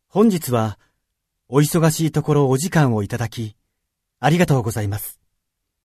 本日はお忙しいところお時間をいただき、ありがとうございます。